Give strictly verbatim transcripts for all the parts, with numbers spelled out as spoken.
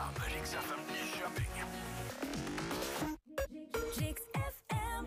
Stockholm, Rix F M Nyköping. Rix F M.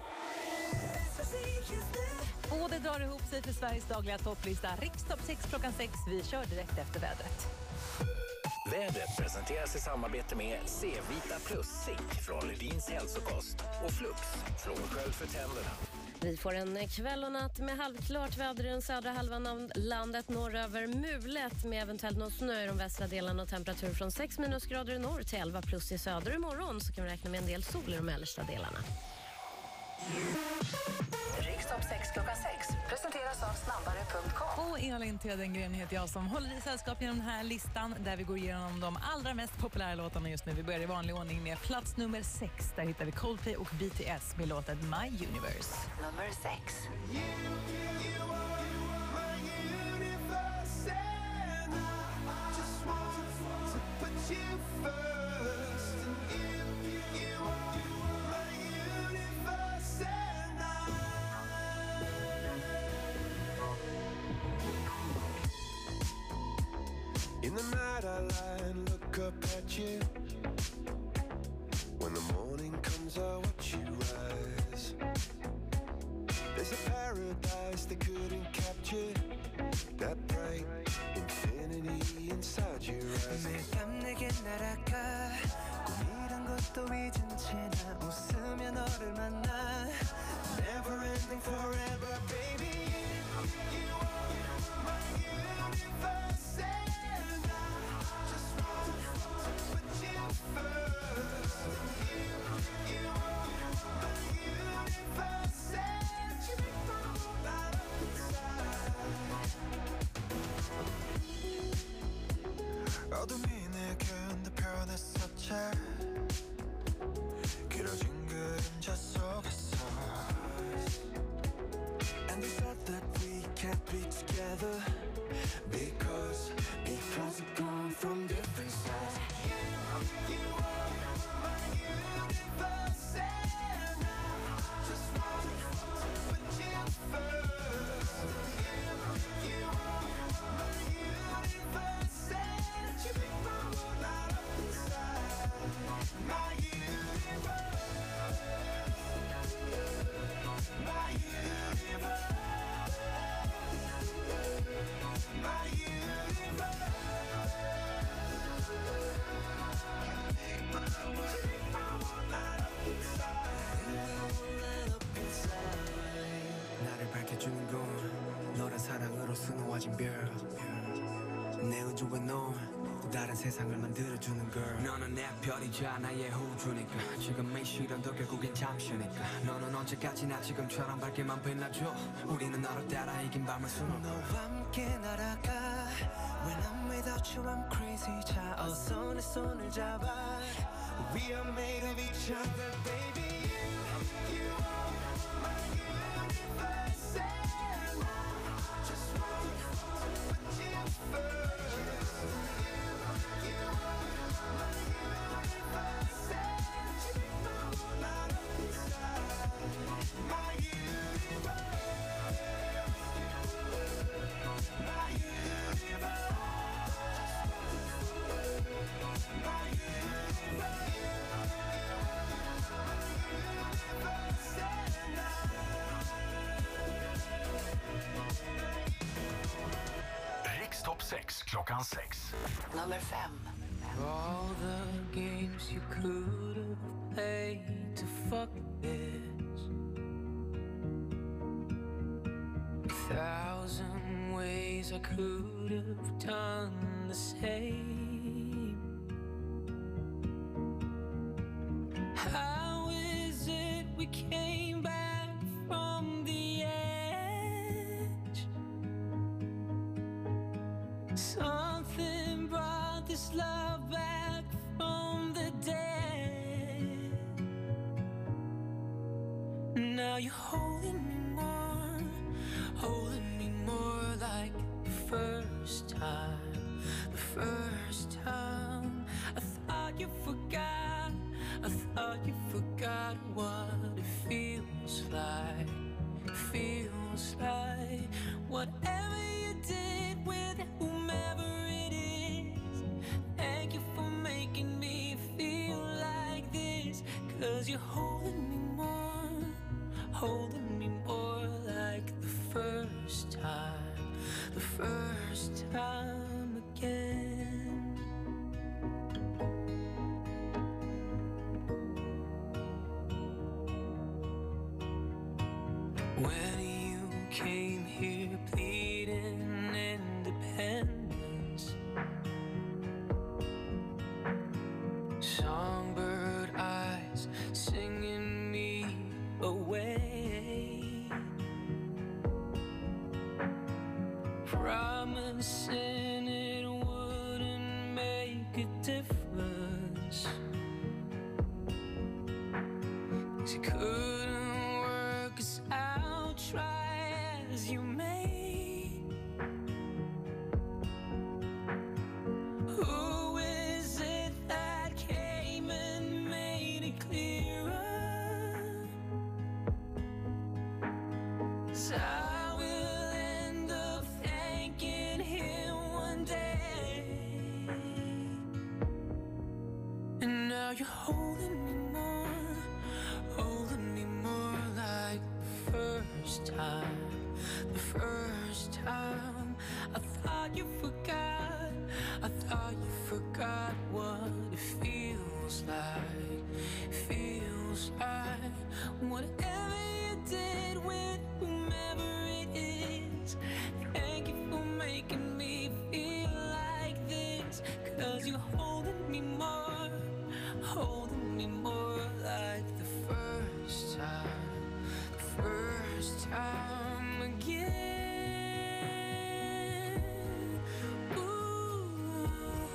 Och det drar ihop sig för Sveriges dagliga topplista. Rix topp sex klockan sex. Vi kör direkt efter vädret. Vädret presenteras i samarbete med C-Vita Plus Zink från Ledins hälsokost och Flux från Sköld för tänderna. Vi får en kväll och natt med halvklart väder i den södra halvan av landet, norröver mulet med eventuellt någon snö i de västra delarna och temperatur från sex minusgrader i norr till elva plus i söder. Imorgon så kan vi räkna med en del sol i de mellersta delarna. Riksdag sex klockan sex presenteras av snabbare punkt com. Och Elin Tedengren heter jag som håller i sällskap genom den här listan där vi går igenom de allra mest populära låtarna just nu. Vi börjar i vanlig ordning med plats nummer sex. Där hittar vi Coldplay och B T S med låten My Universe. Nummer sex. In the night I lie and look up at you. When the morning comes I watch you rise. There's a paradise they couldn't capture. That bright infinity inside your eyes. 매일 밤 내게 날아가 꿈이란 것도 잊은 채 나 웃으며 너를 만나. Never ending forever baby. You are my universe. 어둠이 내게 under 변했었지 길어진 그림자 속에서 And they said that we can't be together Because, because we've gone from different sides You, you are my universe And I just want to put you first You, you are my universe And you make my world light up inside My universe My universe My universe 나를 밝혀주는 건 너란 사랑으로 수놓아진 별 내 우주에 넌 또 다른 세상을 만들어주는 girl 너는 내 별이자 나의 호주니까 지금의 시련도 결국엔 잠시니까 너는 언제까지나 지금처럼 밝게만 빛나줘 우리는 너를 따라 이긴 밤을 수놓아 너와 함께 날아가 When I'm without you I'm crazy 자 어서 내 손을 잡아 We are made of each other baby You, you are my universe And I just want to put you first You, you are my universe And you make my world light up inside My universe My universe My universe Topp sex klockan sex. Nummer fem. All the games you could have played to fuck this A thousand ways I could have done the same How is it we came back from the edge Something brought this love back from the dead Now you're holding me more Holding me more like the first time The first time I thought you forgot I thought you forgot what it feels like Feels like Whatever you did with whomever it is Thank you for making me 'cause you're holding me more, holding me more like the first time, the first time again. When you came here pleading independence, songbird eyes singing me away, promising it wouldn't make a difference, 'cause you couldn't work us out, try as you may. Who is it that came and made it clearer? 'Cause I will end up thanking him one day. And now you're holding me more, holding me more like the first time, the first time. I thought you forgot, I thought you forgot what it feels like, feels like. Whatever you did with whomever it is, thank you for making me feel like this. 'Cause you're holding me more, holding me more like the first time, the first time again. Ooh,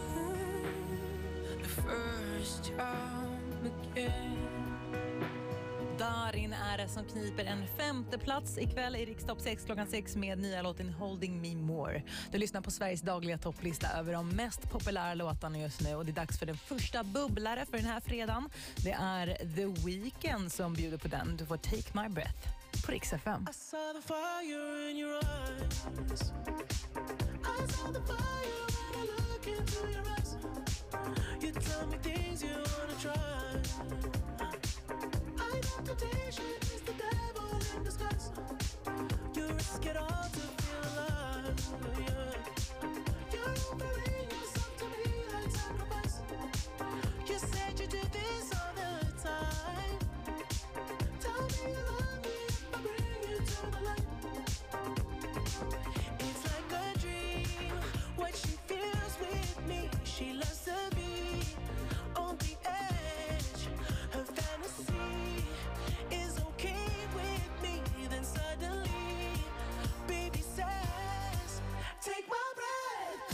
the first time again. Darin är det som kniper en femte plats ikväll i Rikstopp sex klockan sex med nya låten Holding Me More. Du lyssnar på Sveriges dagliga topplista över de mest populära låtarna just nu, och det är dags för den första bubblare för den här fredagen. Det är The Weeknd som bjuder på den. Du får Take My Breath på Rix F M. I saw the fire in your eyes. I saw the fire when I look into your eyes. You tell me things you wanna try. I know temptation is the devil in disguise. You risk it all to feel alive, yeah. You're offering yourself to me like sacrifice. You said you do this all the time. Tell me you love me if I bring you to the light. It's like a dream, what she feels with me. She loves to be on the edge. Her fantasy is okay with me. Then suddenly, baby says, take my breath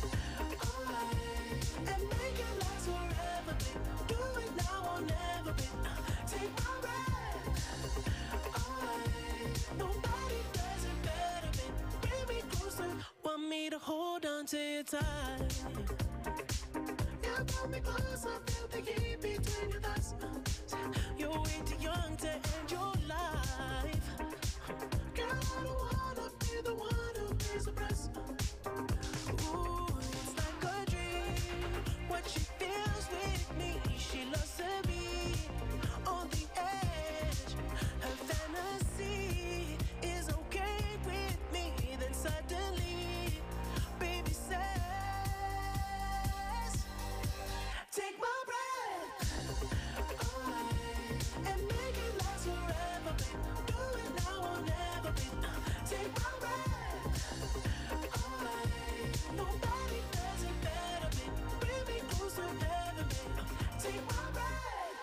away and make it last forever, babe. Do it now or never, babe. Take my breath away. Nobody does it better, babe. Bring me closer, want me to hold on to you tight. You brought me closer, feel the heat between your thighs. You're way too young to end your life. Girl, I don't wanna be the one who pays the price. Ooh, it's like a dream, what she feels with me. She loves to be on the edge. Her fantasy is okay with me. Then suddenly, baby says, take my breath away and make it last forever, babe. Do it now or never, babe. Take my breath away. Nobody does it better, babe. Bring me closer, never, babe. Take my breath.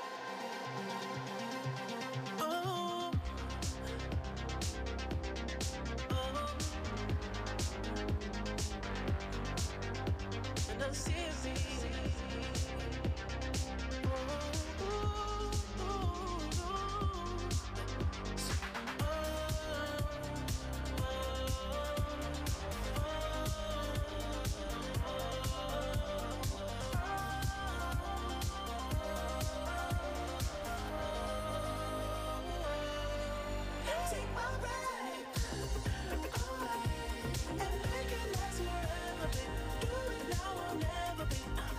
Oh, oh. And I'm serious. Take my breath away and make it last forever, babe. Do it now or never, babe.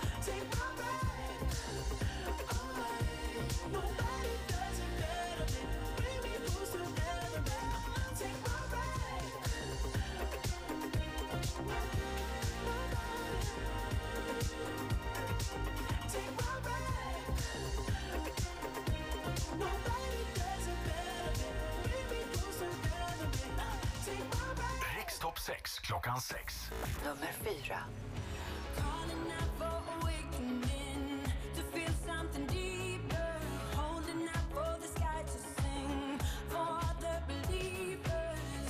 sex klockan sex. Nummer fyra. Calling out for awakening, to feel something deeper, holding out for the sky to sing, for the believers.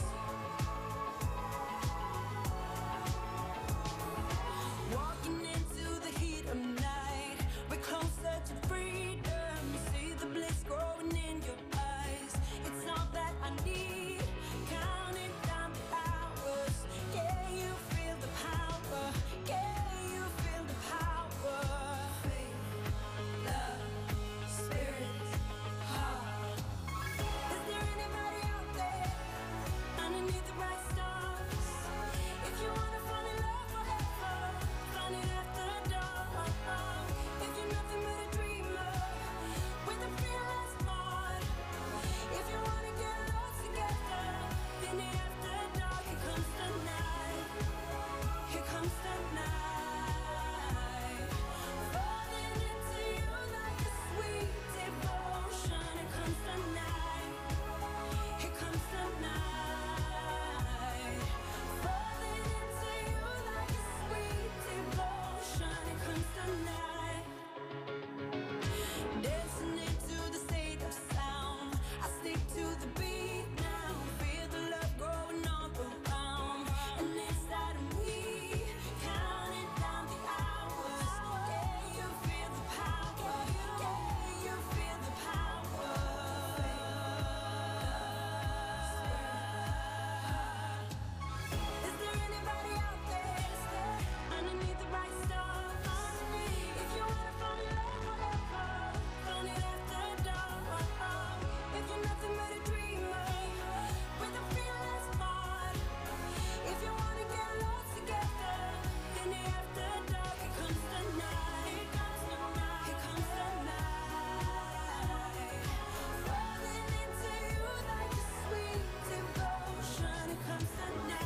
Walking into the heat of night, we're closer to freedom. See the bliss growing in your eyes. It's all that I need. Counting down the hours. Yeah, you feel the power. Yeah, you feel the power. Faith, love, spirit, heart. Is there anybody out there underneath the bright stars? If you wanna fall in love forever, find it after dark. If you're nothing but a dreamer with a fearless heart, if you wanna get lost together in the after dark, here comes the night. Here comes the night. Falling into you like a sweet devotion. Here comes the night. Here comes the night. Falling into you like a sweet devotion. Here comes the night. Dancing into the state of sound. I stick to the beat now. Feel the love growing all around and inside of me. Counting down the hours. Yeah, you feel the power. Yeah, you feel the power. Is there anybody out there underneath the bright stars? If you wanna fall in love forever, find it after dark. If you're nothing but a dreamer with a fearless heart, if you wanna get lost together in the after dark, here comes the night. Here comes the night. Here comes the night. Falling into you like a sweet devotion. Here comes the night.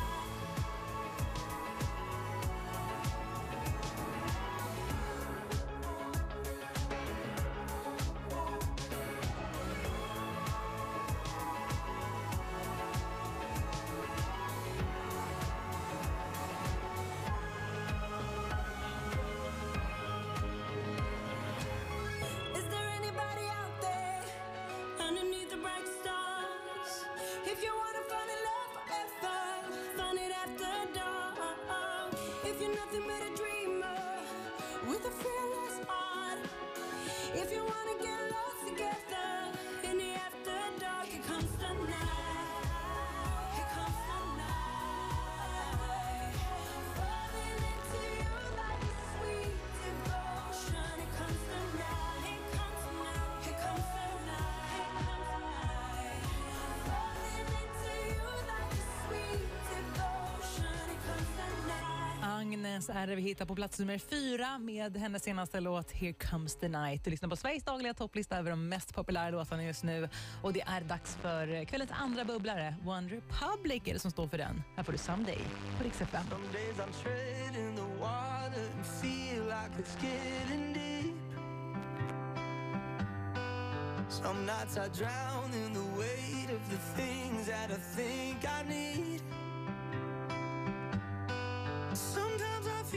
Is there anybody out there underneath the bright stars? If you wanna fall in love forever, find it after dark. If you're nothing but a dreamer with a fearless heart, if you wanna get lost together in the after dark, here comes the night. Here comes the night. Falling into you like a sweet devotion. Here comes the night. Here comes the night. Here comes the night. Falling into you like a sweet devotion. Here comes the night. Agnes är det vi hittar på plats nummer fyra med hennes senaste låt Here Comes the Night. Du lyssnar på Sveriges dagliga topplista över de mest populära låtarna just nu. Och det är dags för kvällens andra bubblare. One Republic är det som står för den. Här får du Someday på Rix F M. Some days I'm treading the water and feel like it's getting deep. Some nights I drown in the weight of the things that I think I need. Sometimes I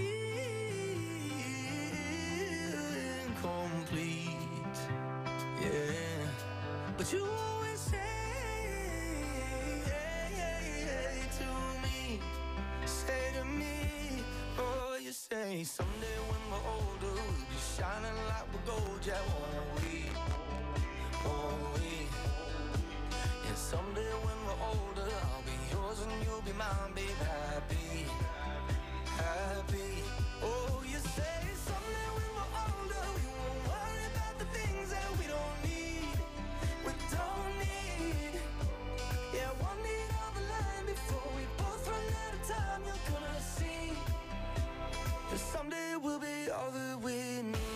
feel incomplete, yeah. But you always say to me, say to me, oh, you say someday when we're older we'll be shining like we're gold, yeah, won't we? Won't we? And someday when we're older I'll be yours and you'll be mine, babe, happy, happy. Oh, you say someday when we're older we won't worry about the things that we don't need, we don't need. Yeah, one need on the line before we both run out of time. You're gonna see that someday we'll be all that we need.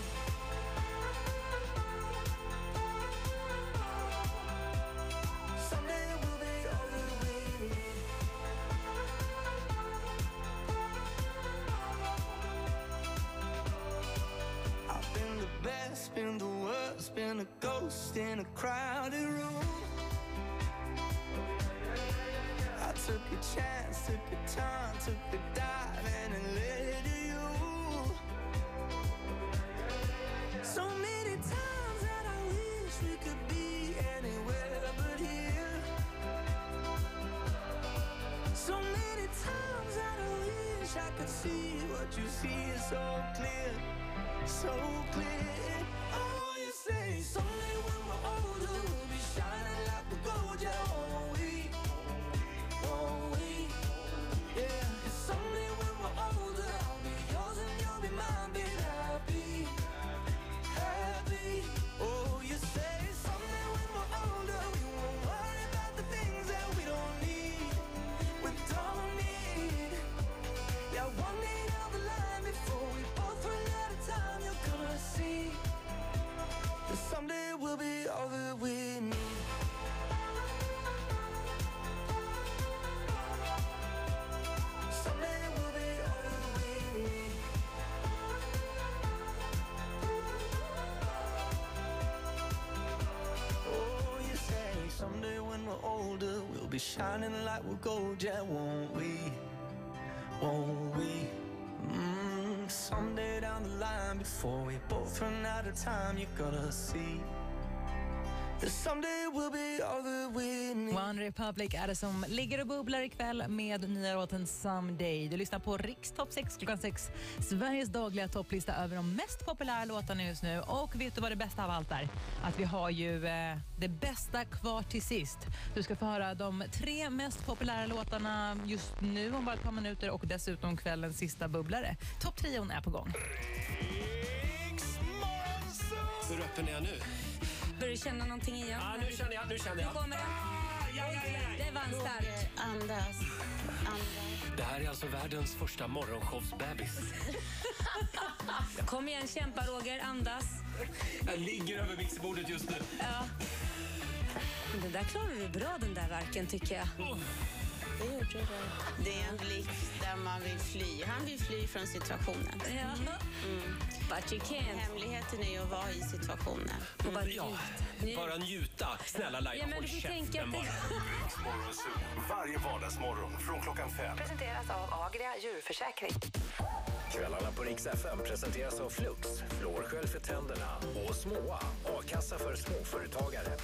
Someday we'll be all that we need. I've been the best, been the worst, been a ghost in a crowded room. I Took a chance, took a turn, took a dive and it led to you. So many times that I wish we could be anywhere but here. So many times that I wish I could see what you see is so clear, so clear. Oh, you say someday when we're older we'll be shining like the gold, yeah, won't we? Won't we? Yeah. And someday when we're older I'll be yours and you'll be mine, baby, happy, happy. Oh, you say someday when we're older we won't worry about the things that we don't need, we don't need. Yeah, one day down the line before we both run out of time, you're gonna see that someday we'll be all that we need. Someday we'll be all that we need. Oh, you say someday when we're older we'll be shining like we're gold, yeah, won't we? Won't we? Mm, someday down the line before we both run out of time, you're gonna see that someday we'll be all that we need. One Republic är det som ligger och bubblar ikväll med nya låten Someday. Du lyssnar på Riks Topp sex klockan sex. Sveriges dagliga topplista över de mest populära låtarna just nu. Och vet du vad det bästa av allt är? Att vi har ju eh, det bästa kvar till sist. Du ska få höra de tre mest populära låtarna just nu om bara ett par minuter och dessutom kvällens sista bubblare. Topptrion är på gång. Hur öppen är jag nu? Börjar du känna någonting igen? Ja, nu känner jag, nu känner jag. Nu kommer det. Ja, ja, ja. Det var en start. Andas. Andas. Det här är alltså världens första morgonshowsbebis. Kom igen, kämpa Roger, andas. Jag ligger över mixerbordet just nu. Ja. Den där klarar du bra, den där verken, tycker jag. Oh. Det gjorde det. Det är en blick där man vill fly. Han vill fly från situationen. Ja. Mm. But you can't. Hemligheten är att vara i situationen. Och bara Ja, njut. bara njuta. Snälla Laila, Ja, men håll du får käften tänka att bara. Riksmorgonzoo, varje vardagsmorgon från klockan fem. Presenteras av Agria djurförsäkring. Kvällarna på Rix F M presenteras av Flux, flårskölj för tänderna och Småa, A-kassa för småföretagare.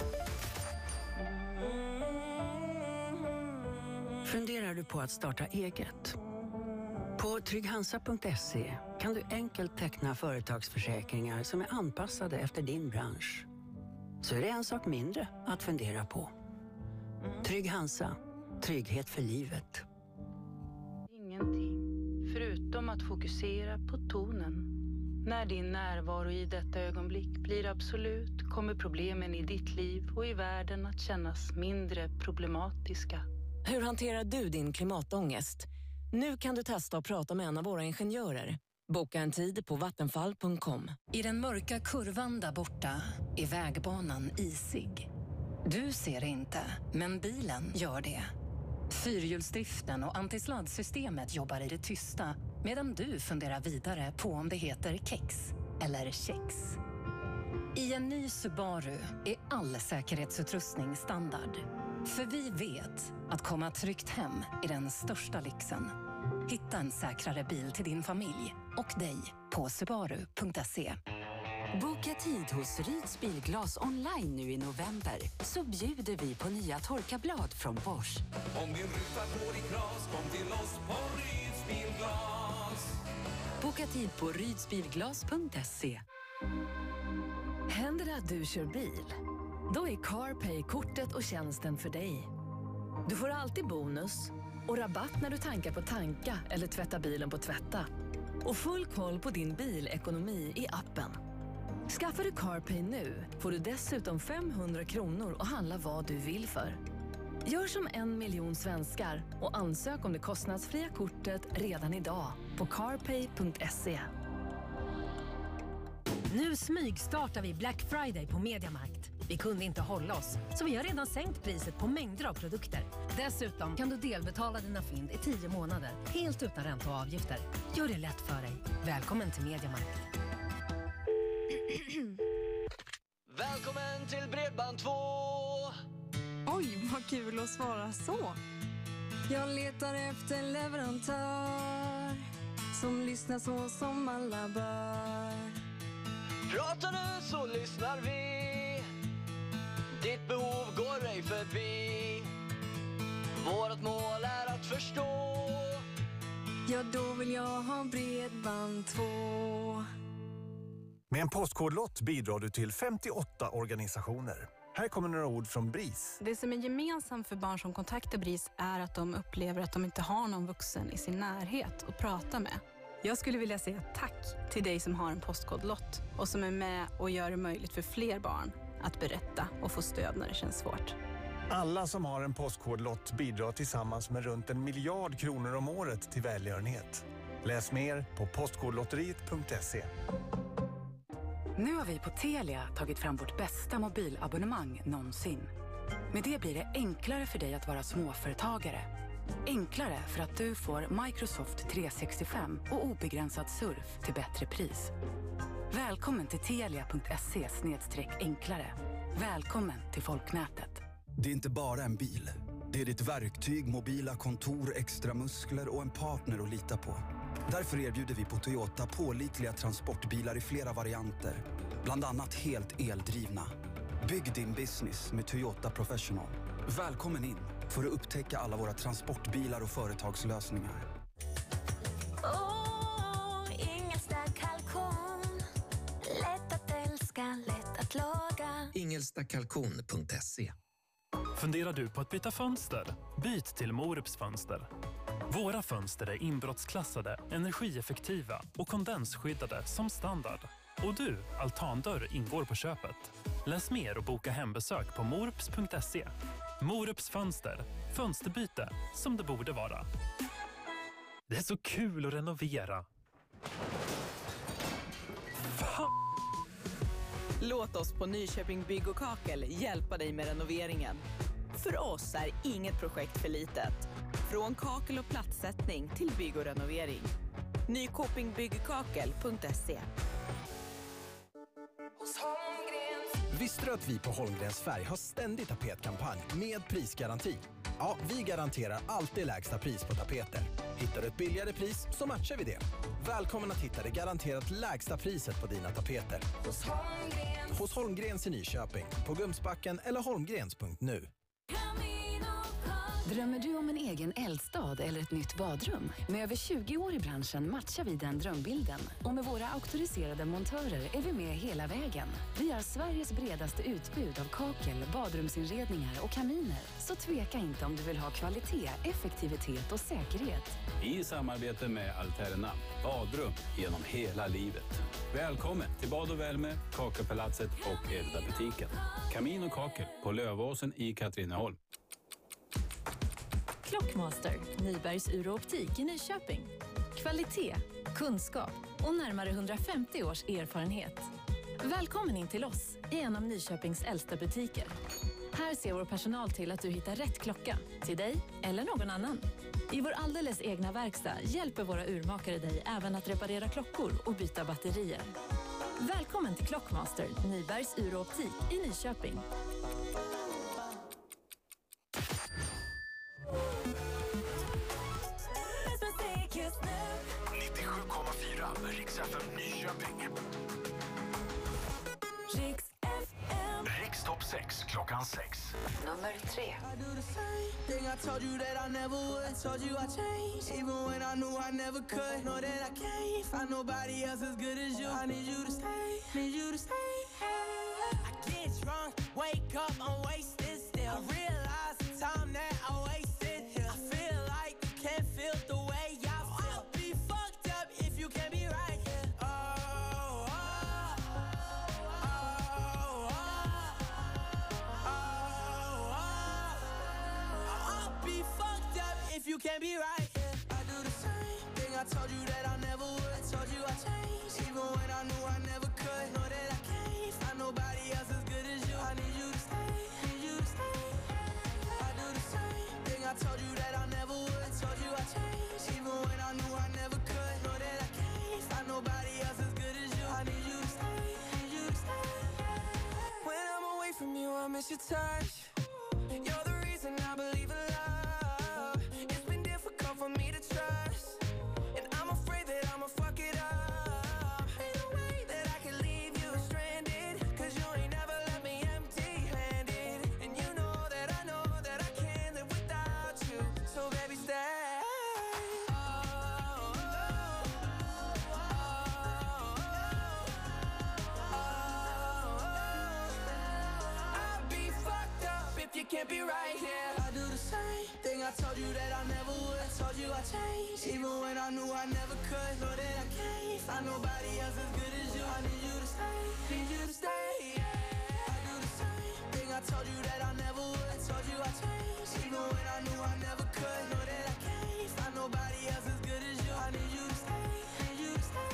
Funderar du på att starta eget? På trygghansa punkt se kan du enkelt teckna företagsförsäkringar som är anpassade efter din bransch. Så är det en sak mindre att fundera på. Trygg-Hansa. Trygghet för livet. Ingenting, förutom att fokusera på tonen. När din närvaro i detta ögonblick blir absolut kommer problemen i ditt liv och i världen att kännas mindre problematiska. Hur hanterar du din klimatångest? Nu kan du testa att prata med en av våra ingenjörer. Boka en tid på vattenfall punkt com. I den mörka kurvan där borta är vägbanan isig. Du ser det inte, men bilen gör det. Fyrhjulsdriften och antisladdsystemet jobbar i det tysta medan du funderar vidare på om det heter kex eller kex. I en ny Subaru är all säkerhetsutrustning standard. För vi vet att komma tryggt hem är den största lyxen. Hitta en säkrare bil till din familj och dig på subaru punkt se. Boka tid hos Ryds Bilglas online nu i november så bjuder vi på nya torkarblad från Bosch. Om din ruta går i kras, kom till oss på Ryds Bilglas. Boka tid på rydsbilglas punkt se. Händer det att du kör bil? Då är CarPay kortet och tjänsten för dig. Du får alltid bonus och rabatt när du tankar på Tanka eller tvättar bilen på Tvätta. Och full koll på din bilekonomi i appen. Skaffar du CarPay nu får du dessutom femhundra kronor och handla vad du vill för. Gör som en miljon svenskar och ansök om det kostnadsfria kortet redan idag på carpay punkt se. Nu smygstartar vi Black Friday på Mediamarkt. Vi kunde inte hålla oss, så vi har redan sänkt priset på mängder av produkter. Dessutom kan du delbetala dina fynd i tio månader, helt utan ränta och avgifter. Gör det lätt för dig. Välkommen till Mediamarkt. Välkommen till Bredband två! Oj, vad kul att svara så. Jag letar efter en leverantör som lyssnar så som alla bör. Pratar du så lyssnar vi. Ditt behov går ej förbi. Vårt mål är att förstå. Ja, då vill jag ha Bredband två. Med en postkodlott bidrar du till femtioåtta organisationer. Här kommer några ord från B R I S. Det som är gemensamt för barn som kontaktar B R I S är att de upplever att de inte har någon vuxen i sin närhet att prata med. Jag skulle vilja säga tack till dig som har en postkodlott och som är med och gör det möjligt för fler barn att berätta och få stöd när det känns svårt. Alla som har en postkodlott bidrar tillsammans med runt en miljard kronor om året till välgörenhet. Läs mer på postkodlotteriet punkt se. Nu har vi på Telia tagit fram vårt bästa mobilabonnemang någonsin. Med det blir det enklare för dig att vara småföretagare. Enklare för att du får Microsoft trehundrasextiofem och obegränsad surf till bättre pris. Välkommen till telia punkt se snedstreck enklare. Välkommen till folknätet. Det är inte bara en bil. Det är ditt verktyg, mobila kontor, extra muskler och en partner att lita på. Därför erbjuder vi på Toyota pålitliga transportbilar i flera varianter. Bland annat helt eldrivna. Bygg din business med Toyota Professional. Välkommen in för att upptäcka alla våra transportbilar och företagslösningar. Oh, Ingelsta kalkon. Lätt att älska, lätt att laga. Ingelsta kalkon punkt se. Funderar du på att byta fönster? Byt till Morups fönster. Våra fönster är inbrottsklassade, energieffektiva och kondensskyddade som standard. Och du, altandörr ingår på köpet. Läs mer och boka hembesök på morups punkt se. Morups fönster. Fönsterbyte som det borde vara. Det är så kul att renovera. Fan! Låt oss på Nyköping Bygg och Kakel hjälpa dig med renoveringen. För oss är inget projekt för litet. Från kakel och platssättning till bygg och renovering. Nyköping Byggkakel punkt se. Visste du att vi på Holmgrens Färg har ständig tapetkampanj med prisgaranti? Ja, vi garanterar alltid lägsta pris på tapeter. Hittar du ett billigare pris så matchar vi det. Välkommen att hitta det garanterat lägsta priset på dina tapeter. Hos Holmgrens, Hos Holmgrens i Nyköping, på Gumsbacken eller holmgrens punkt nu. Drömmer du om en egen eldstad eller ett nytt badrum? Med över tjugo år i branschen matchar vi den drömbilden. Och med våra auktoriserade montörer är vi med hela vägen. Vi har Sveriges bredaste utbud av kakel, badrumsinredningar och kaminer. Så tveka inte om du vill ha kvalitet, effektivitet och säkerhet. I samarbete med Alterna, badrum genom hela livet. Välkommen till Bad och Värme, Kakelpalatset och Elda-butiken. Kamin och kakel på Lövåsen i Katrineholm. Clockmaster, Nybergs ur- och optik i Nyköping. Kvalitet, kunskap och närmare hundrafemtio års erfarenhet. Välkommen in till oss i en av Nyköpings äldsta butiker. Här ser vår personal till att du hittar rätt klocka till dig eller någon annan. I vår alldeles egna verkstad hjälper våra urmakare dig även att reparera klockor och byta batterier. Välkommen till Clockmaster, Nybergs ur- och optik i Nyköping. nittiosju komma fyra Riks F M Nyköping. Riks F M. Riks topp sex klockan sex. Nummer tre. I do the same thing I told you that I never would. Told you I changed, even when I knew I never could. Know that I can't find nobody else as good as you. I need you to stay, need you to stay. I get drunk, wake up, I'm wasted still. I realize the time that I wasted here. I feel like you can't feel the way I feel. I'll be fucked up if you can't be right here. Oh, oh, oh, oh, oh, oh, oh. I'll be fucked up if you can't be right here. I do the same thing I told you that I never would. Told you I changed, even when I knew I never could. Know that I can't find nobody else as good as you. I need you to stay, need you to stay. I do the same thing I told you that I never would. Told you I changed, even when I knew I never could. Know that I can't find nobody else as good as you. I need you to stay, need you to stay. When I'm away from you, I miss your touch. You're the reason I believe in love. It's it can't be right here. I do the same thing I told you that I never would. I told you I changed, even when I knew I never could. Know that I can't find nobody else as good as you. I need you to stay, need you to stay, yeah. I do the same thing I told you that I never would. I told you I changed, even when I knew I never could. Know that I can't find nobody else as good as you. I need you to stay, need you to stay.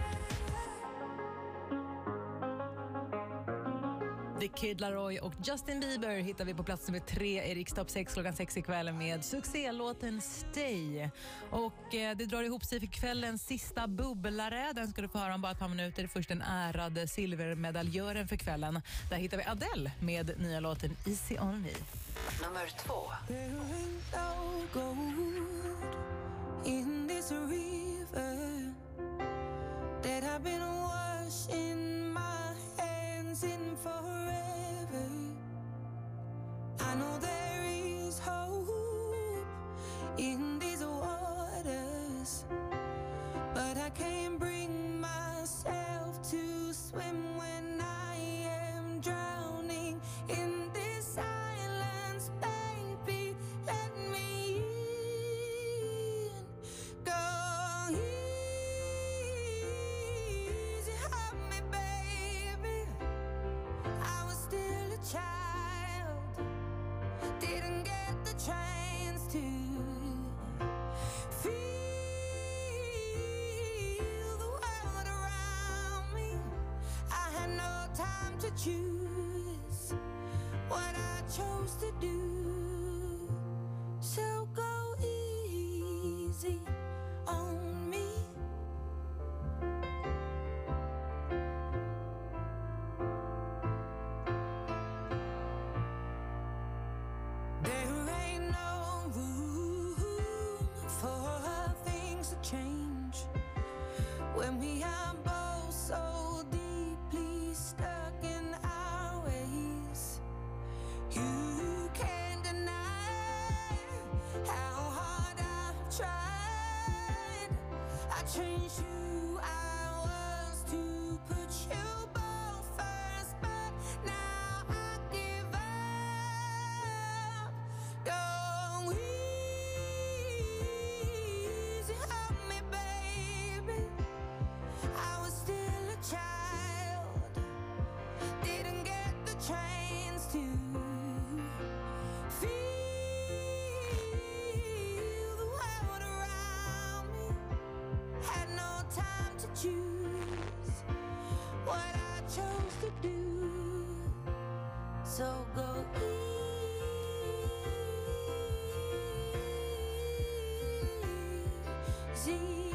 The Kid Laroi och Justin Bieber hittar vi på plats nummer tre i Rikstopp sex klockan sex ikväll med succélåten Stay. Och eh, det drar ihop sig för kvällens sista bubblare. Den ska du få höra om bara ett par minuter. Först den ärade silvermedaljören för kvällen. Där hittar vi Adele med nya låten Easy On Me. Nummer två. There ain't no gold in this river that I've been washing my hands in forever. I know there is hope in these waters, but I can't bring myself to swim when I am drowning in this silence. Baby, let me in. Go easy on me, baby. I was still a child, didn't get the chance to feel the world around me. I had no time to choose what I chose to do. So go easy on me. There ain't no room for things to change when we are both so deeply stuck in our ways. You can't deny how hard I've tried. I changed who I was to put you both first, but now I give up. Go easy on me, baby. I was still a child, didn't get the chance to feel the world around me. Had no time to choose what I chose to do. So go easy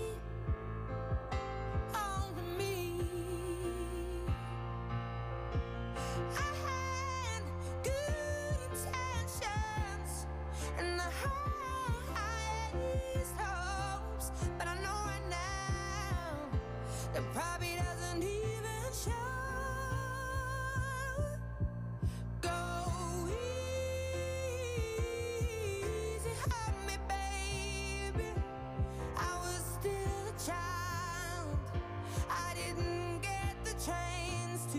on me. I had good intentions and the highest hopes, but I know right now that probably doesn't even show. Go easy on me, baby. I was still a child, I didn't get the chance to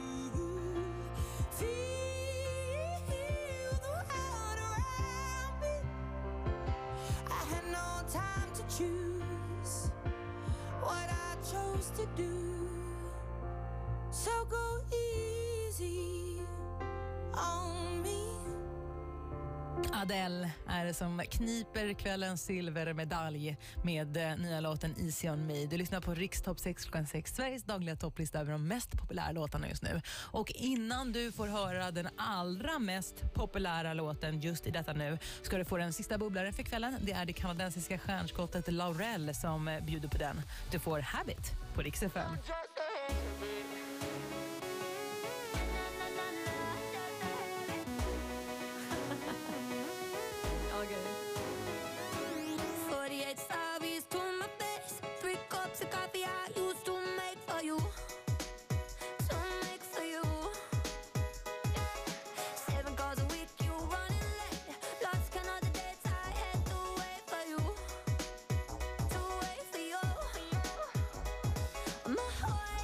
feel the world around me. I had no time to choose what I chose to do. So go easy on me. Adele är det som kniper kvällens silvermedalj med eh, nya låten Easy On Me. Du lyssnar på Rikstopp sex klockan sex, Sveriges dagliga topplista över de mest populära låtarna just nu. Och innan du får höra den allra mest populära låten just i detta nu ska du få den sista bubblaren för kvällen. Det är det kanadensiska stjärnskottet Laurel som eh, bjuder på den. Du får Habit på Rix F M. forty-eight Savis to my face, three cups of coffee I used to make for you, to make for you. Seven calls a week, you running late, lost count of the dates I had to wait for you, to wait for you. My whole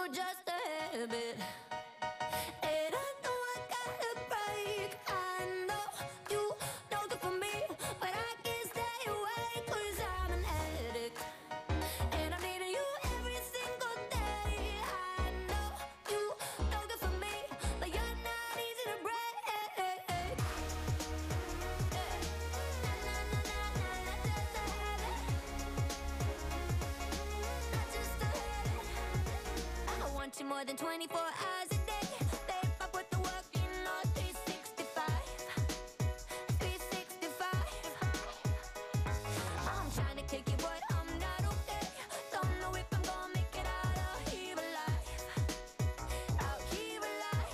You're just a habit. And I know I gotta break. I know you don't good for me, but I can't stay away 'cause I'm an addict. And I'm needing you every single day. I know you don't good for me, but you're not easy to break. I want you more than twenty-four hours a day. Babe, I put the work in all three sixty-five. three sixty-five. I'm trying to kick you, but I'm not okay. Don't know if I'm gonna make it out of here alive. Out here alive.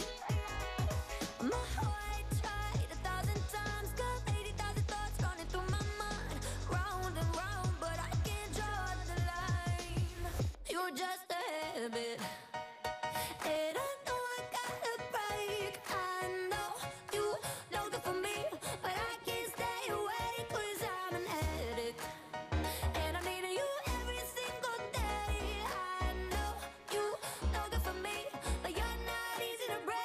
My heart tried a thousand times, got eighty thousand thoughts running through my mind. Round and round, but I can't draw the line. You're just a habit. And I know I gotta break. I know you don't good for me, but I can't stay away 'cause I'm an addict. And I'm needing you every single day. I know you don't good for me, but you're not easy to break.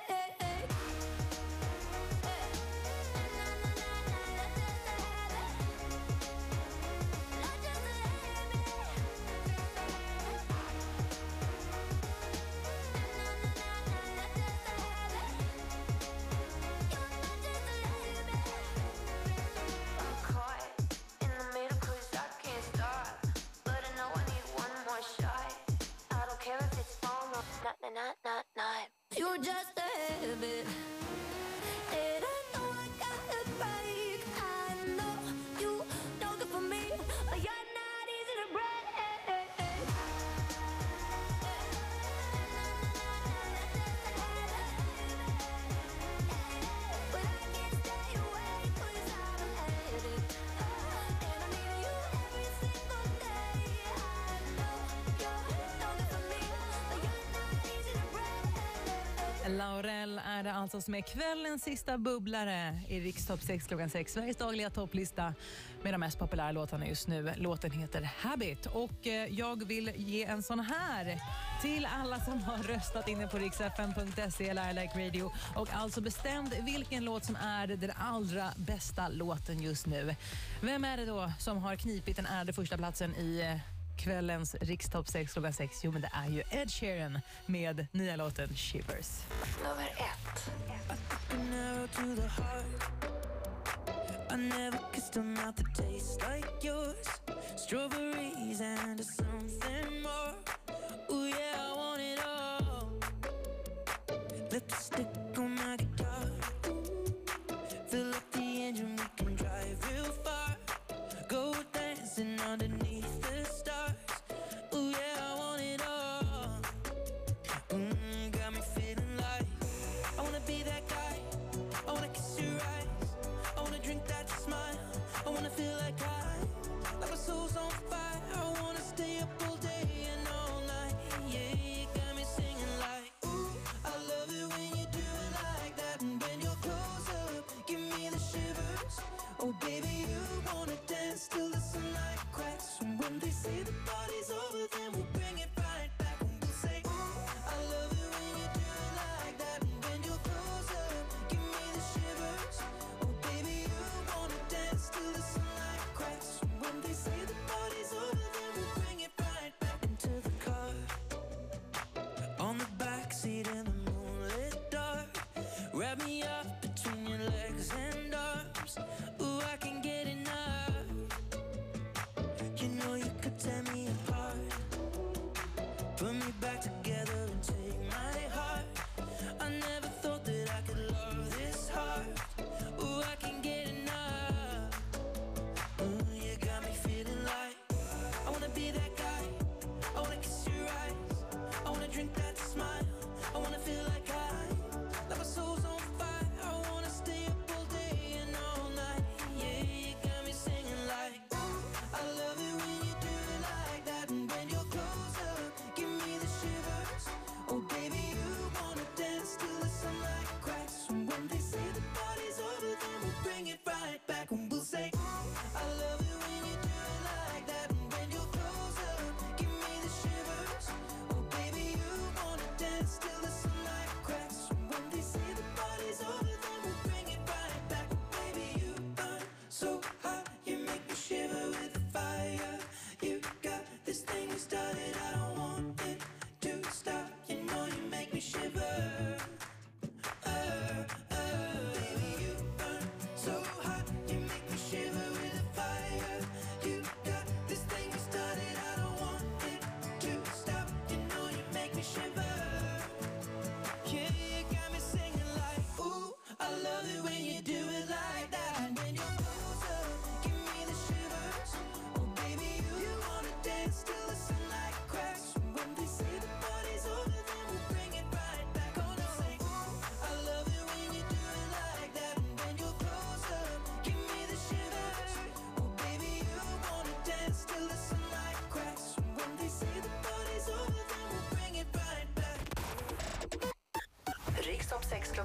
I'm caught in the middle 'cause I can't stop, but I know I need one more shot. I don't care if it's phone or not, not, not, not, not. You're just a habit. And I know I gotta break. I know you don't good for me, but you're not easy to break. But I can't stay away 'cause I'm an addict. And I'm needing you every single day. I know you don't good for me, but you're not easy to break. Laurel är det alltså som är kvällens sista bubblare i Rikstopp sex klockan sex. Sveriges dagliga topplista med de mest populära låtarna just nu. Låten heter Habit och eh, jag vill ge en sån här till alla som har röstat inne på riks f m punkt se eller I Like Radio och alltså bestämt vilken låt som är den allra bästa låten just nu. Vem är det då som har knipit den ärade första platsen i eh, kvällens Rikstopp sex klockan sex? Jo, men det är ju Ed Sheeran med nya låten Shivers. Nummer ett. An arrow to the heart. I never kissed a mouth that tastes like yours. Strawberries and something more. Ooh yeah, I want it all. Lipstick on my guitar. Fill up the engine, we can drive real far. Go dancing underneath the stars. Ooh yeah, I want it all. Mm, got me feeling like I wanna be that guy. I wanna kiss your eyes. I wanna drink that smile. I wanna feel like I, like my soul's on fire. I wanna stay up all day and all night. Yeah, you got me singing like, ooh, I love it when you do it like that. And when you're close up, give me the shivers. Oh baby, you wanna dance till the sunlight cracks. And when they say the party's over, then we'll bring it right back. And we'll say, ooh, I love it when you do it like that. And when you're close up, give me the shivers. Oh baby, you wanna dance till the sunlight cracks. And when they say the party's over, then we'll bring it right back into the car. On the backseat in the moonlit dark. Wrap me up between your legs and arms. Ooh, I can get enough. You know you could tear me apart.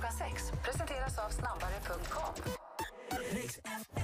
klockan sex presenteras av snabbare punkt com. Riks